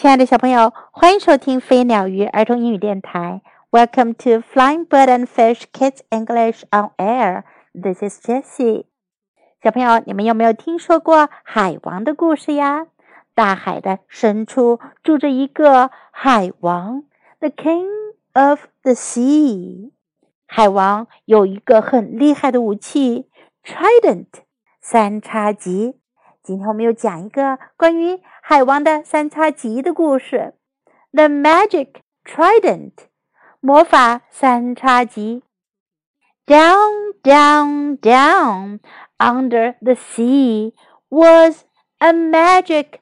亲爱的小朋友，欢迎收听飞鸟鱼儿童英语电台。Welcome to Flying Bird and Fish Kids English on Air. This is Jessie. 小朋友，你们有没有听说过海王的故事呀？大海的深处住着一个海王 ，The King of the Sea. 海王有一个很厉害的武器 ，Trident 三叉戟。今天我们又讲一个关于海王的三叉戟的故事 The Magic Trident 魔法三叉戟 Down, down, down Under the sea was a magic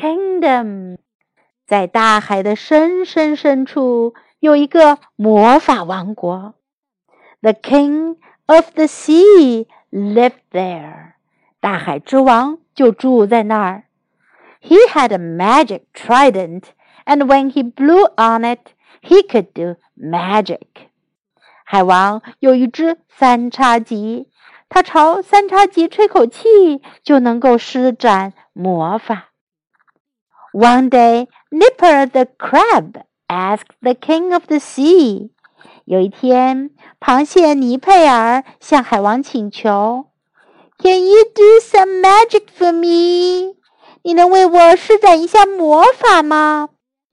kingdom 在大海的深深深处有一个魔法王国 The king of the sea lived there 大海之王就住在那儿。He had a magic trident, and when he blew on it, he could do magic. 海王有一只三叉戟，他朝三叉戟吹口气，就能够施展魔法。One day, Nipper the crab asked the king of the sea. 有一天，螃蟹尼佩尔向海王请求。Can you do some magic for me? 你能为我施展一下魔法吗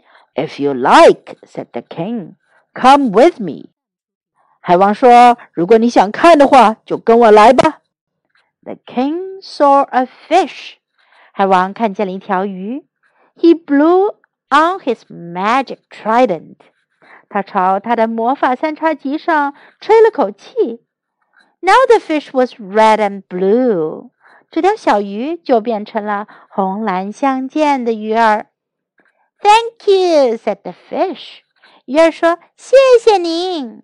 If you like, said the king, come with me. 海王说，如果你想看的话，就跟我来吧。 The king saw a fish. 海王看见了一条鱼。He blew on his magic trident. 他朝他的魔法三叉戟上吹了口气。Now the fish was red and blue. 这条小鱼就变成了红蓝相间的鱼儿。Thank you, said the fish. 鱼儿说：“谢谢您。”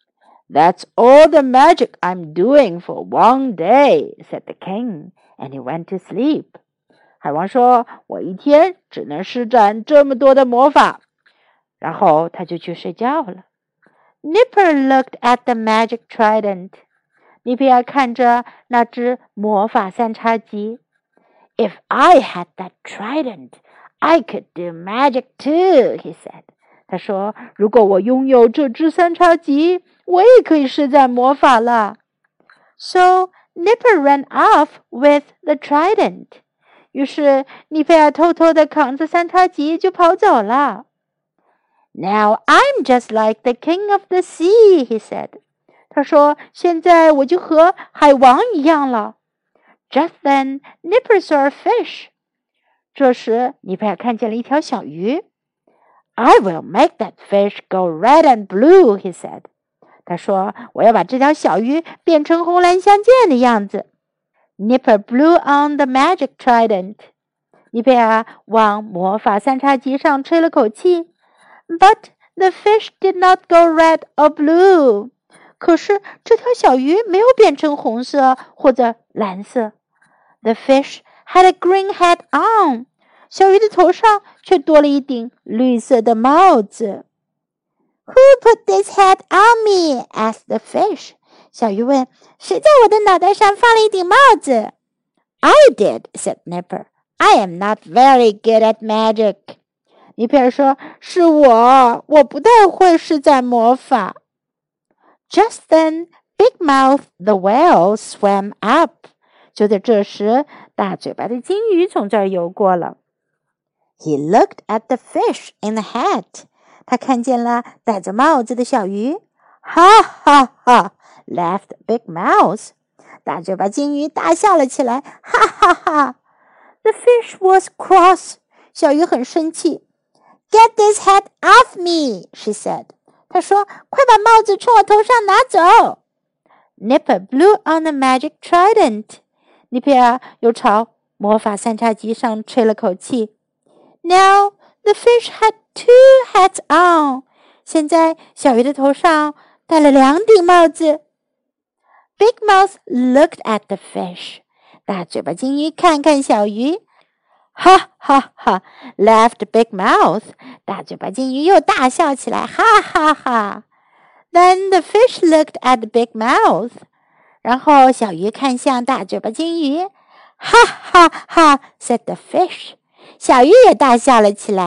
That's all the magic I'm doing for one day, said the king, and he went to sleep. 海王说：“我一天只能施展这么多的魔法。”然后他就去睡觉了。Nipper looked at the magic trident. 尼佩尔看着那只魔法三叉戟。If I had that trident, I could do magic too, he said. 他说，如果我拥有这只三叉戟，我也可以施展魔法了。So Nipper ran off with the trident. 于是尼佩尔偷偷地扛着三叉戟就跑走了。Now I'm just like the king of the sea, he said. 他说：“现在我就和海王一样了。” Just then, Nipper saw a fish. 这时，尼佩尔看见了一条小鱼。I will make that fish go red and blue, he said. 他说：“我要把这条小鱼变成红蓝相间的样子。” Nipper blew on the magic trident. 尼佩尔往魔法三叉戟上吹了口气。But the fish did not go red or blue. 可是这条小鱼没有变成红色或者蓝色。The fish had a green hat on. 小鱼的头上却多了一顶绿色的帽子。Who put this hat on me? asked the fish. 小鱼问：“谁在我的脑袋上放了一顶帽子？” I did, said Nipper. I am not very good at magic. 尼佩尔说：“是我不太会施展魔法。” Just then, Big Mouth the whale swam up. 就在这时，大嘴巴的金鱼从这儿游过了。He looked at the fish in the hat. 他看见了戴着帽子的小鱼。Ha ha ha! laughed Big Mouth. 大嘴巴金鱼大笑了起来。哈哈哈 The fish was cross. 小鱼很生气。Get this hat off me, she said. 他说：“快把帽子从我头上拿走。” Nipper blew on the magic trident. 尼佩尔又朝魔法三叉戟上吹了口气。Now the fish had two hats on. 现在小鱼的头上戴了两顶帽子。Big Mouth looked at the fish. 大嘴巴金鱼看看小鱼。哈哈哈 laughed Big Mouth. 大嘴巴金鱼又大笑起来，哈哈哈。Then the fish looked at Big Mouth. 然后小鱼看向大嘴巴金鱼，哈哈哈 said the fish. 小鱼也大笑了起来。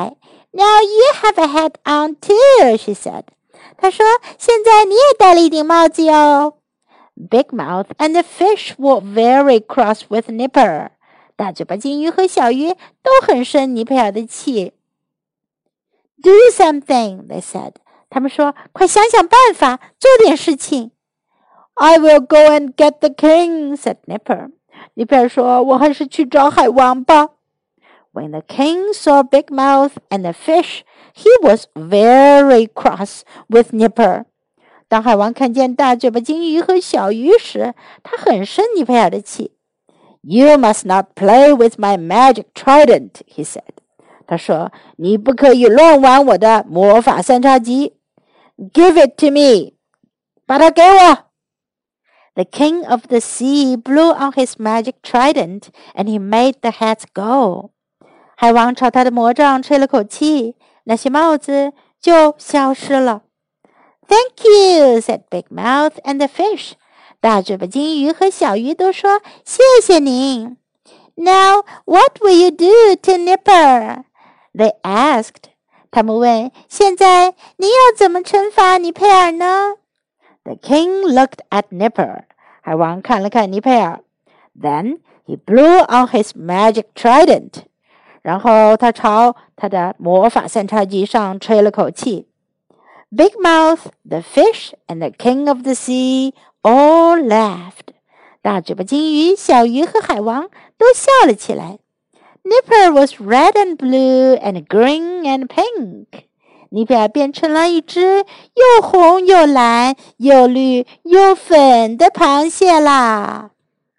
Now you have a hat on too, she said. 她说，现在你也戴了一顶帽子哟。Big Mouth and the fish were very cross with Nipper. 大嘴巴金鱼和小鱼都很生尼佩尔的气。Do something, they said. 他们说，快想想办法，做点事情。I will go and get the king, said Nipper. 尼佩尔说，我还是去找海王吧。When the king saw Big Mouth and the fish, he was very cross with Nipper. 当海王看见大嘴巴金鱼和小鱼时，他很生尼佩尔的气。You must not play with my magic trident, he said. 他说，你不可以乱玩我的魔法三叉戟。Give it to me. 把它给我。The king of the sea blew on his magic trident, and he made the hats go. 海王朝他的魔杖吹了口气，那些帽子就消失了。Thank you, said Big Mouth and the fish. 大嘴巴金鱼和小鱼都说谢谢您。Now, what will you do to Nipper? They asked. 他们问，现在你要怎么惩罚尼佩尔呢？ The king looked at Nipper. 海王看了看尼佩尔。Then he blew on his magic trident. 然后他朝他的魔法三叉戟上吹了口气。Big Mouth, the fish, and the king of the sea all laughed. 大嘴巴金鱼、小鱼和海王都笑了起来。Nipper was red and blue and green and pink. 尼佩尔变成了一只又红又蓝又绿又粉的螃蟹啦。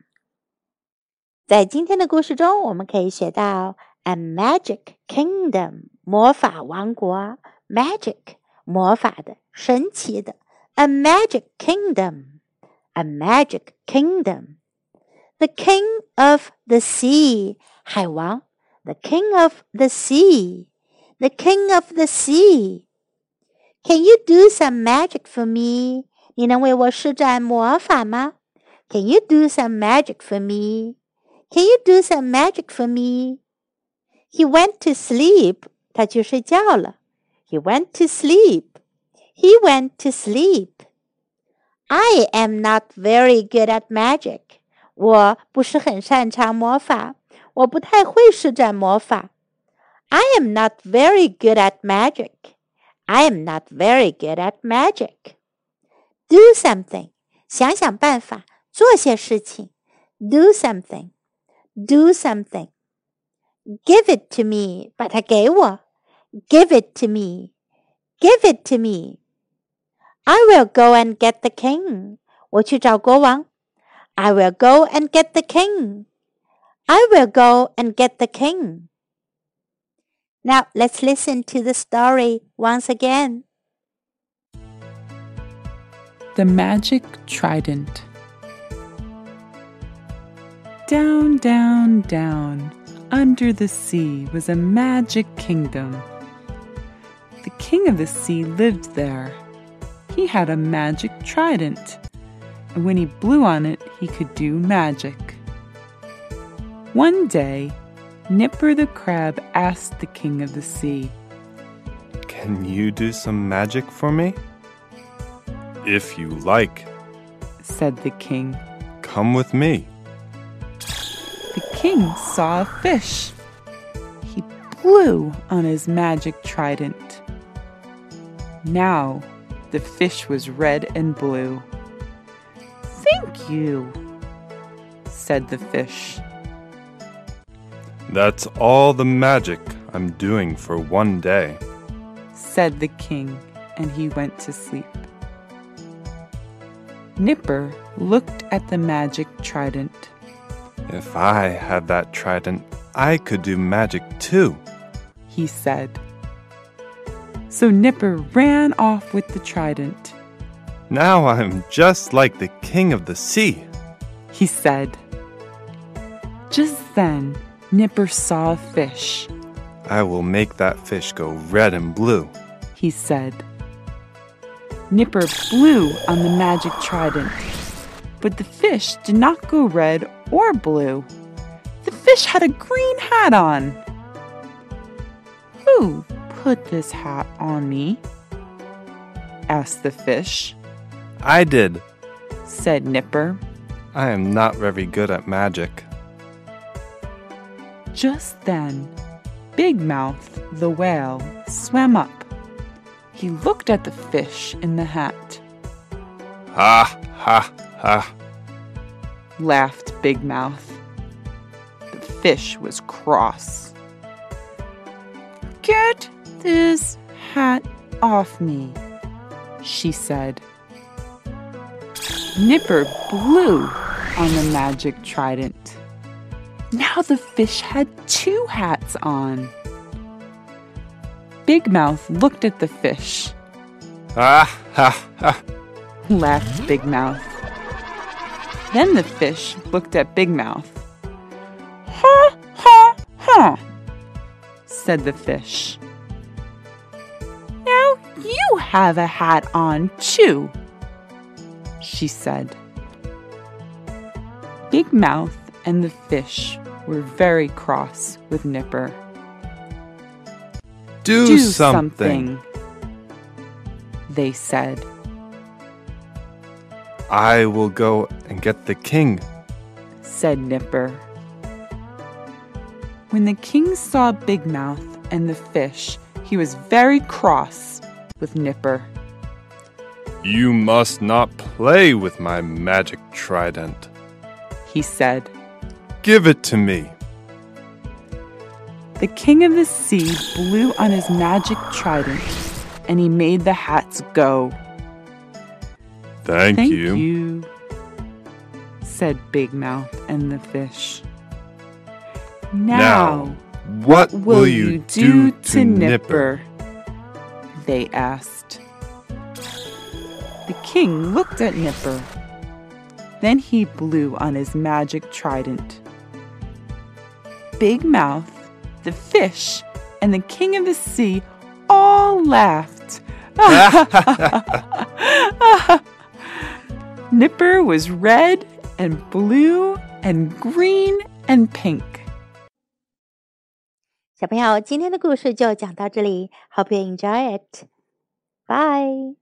在今天的故事中，我们可以学到 a magic kingdom 魔法王国 magic 魔法的神奇的 a magic kingdom a magic kingdom the king of the sea 海王 the king of the sea the king of the sea Can you do some magic for me 你能为我施展魔法吗 Can you do some magic for me Can you do some magic for me He went to sleep 他去睡觉了 He went to sleep He went to sleep I am not very good at magic 我不是很擅长魔法我不太会施展魔法 I am not very good at magic I am not very good at magic Do something 想想办法做些事情 Do something Do something Give it to me 把它给我 Give it to me Give it to me I will go and get the king 我去找国王 I will go and get the king I will go and get the king Now let's listen to the story once again The Magic Trident Down, down, down, under the sea was a magic kingdom. The king of the sea lived there. He had a magic trident, and when he blew on it, he could do magic. One day, Nipper the crab asked the king of the sea, Can you do some magic for me? If you like, said the king. Come with me. The king saw a fish. He blew on his magic trident. Now, the fish was red and blue. Thank you, said the fish. That's all the magic I'm doing for one day, said the king, and he went to sleep. Nipper looked at the magic trident. If I had that trident, I could do magic too, he said. So Nipper ran off with the trident. Now I'm just like the king of the sea, he said. Just then, Nipper saw a fish. I will make that fish go red and blue, he said. Nipper blew on the magic trident, but the fish did not go red or blue. The fish had a green hat on. Who put this hat on me?" asked the fish. I did. Said Nipper. I am not very good at magic. Just then, Big Mouth the whale swam up. He looked at the fish in the hat. Ha, ha, ha. Laughed Big Mouth. The fish was cross. "Get this hat off me," she said. Nipper blew on the magic trident. Now the fish had 2 hats on. Big Mouth looked at the fish. Ha, ha, ha. Laughed Big Mouth. Then the fish looked at Big Mouth. "Ha, ha, ha," said the fish. "Now you have a hat on too," she said. Big Mouth and the fish were very cross with Nipper. Do something, they said. I will go and get the king, said Nipper. When the king saw Big Mouth and the fish, he was very cross with Nipper. You must not play with my magic trident, he said. Give it to me. The king of the sea blew on his magic trident, and he made the hats go. Thank you, you, said Big Mouth and the fish. Now, what will you do to Nipper? They asked. The king looked at Nipper. Then he blew on his magic trident. Big Mouth, the fish, and the king of the sea all laughed. Nipper was red and blue and green and pink. 小朋友，今天的故事就讲到这里。Hope you enjoy it. Bye.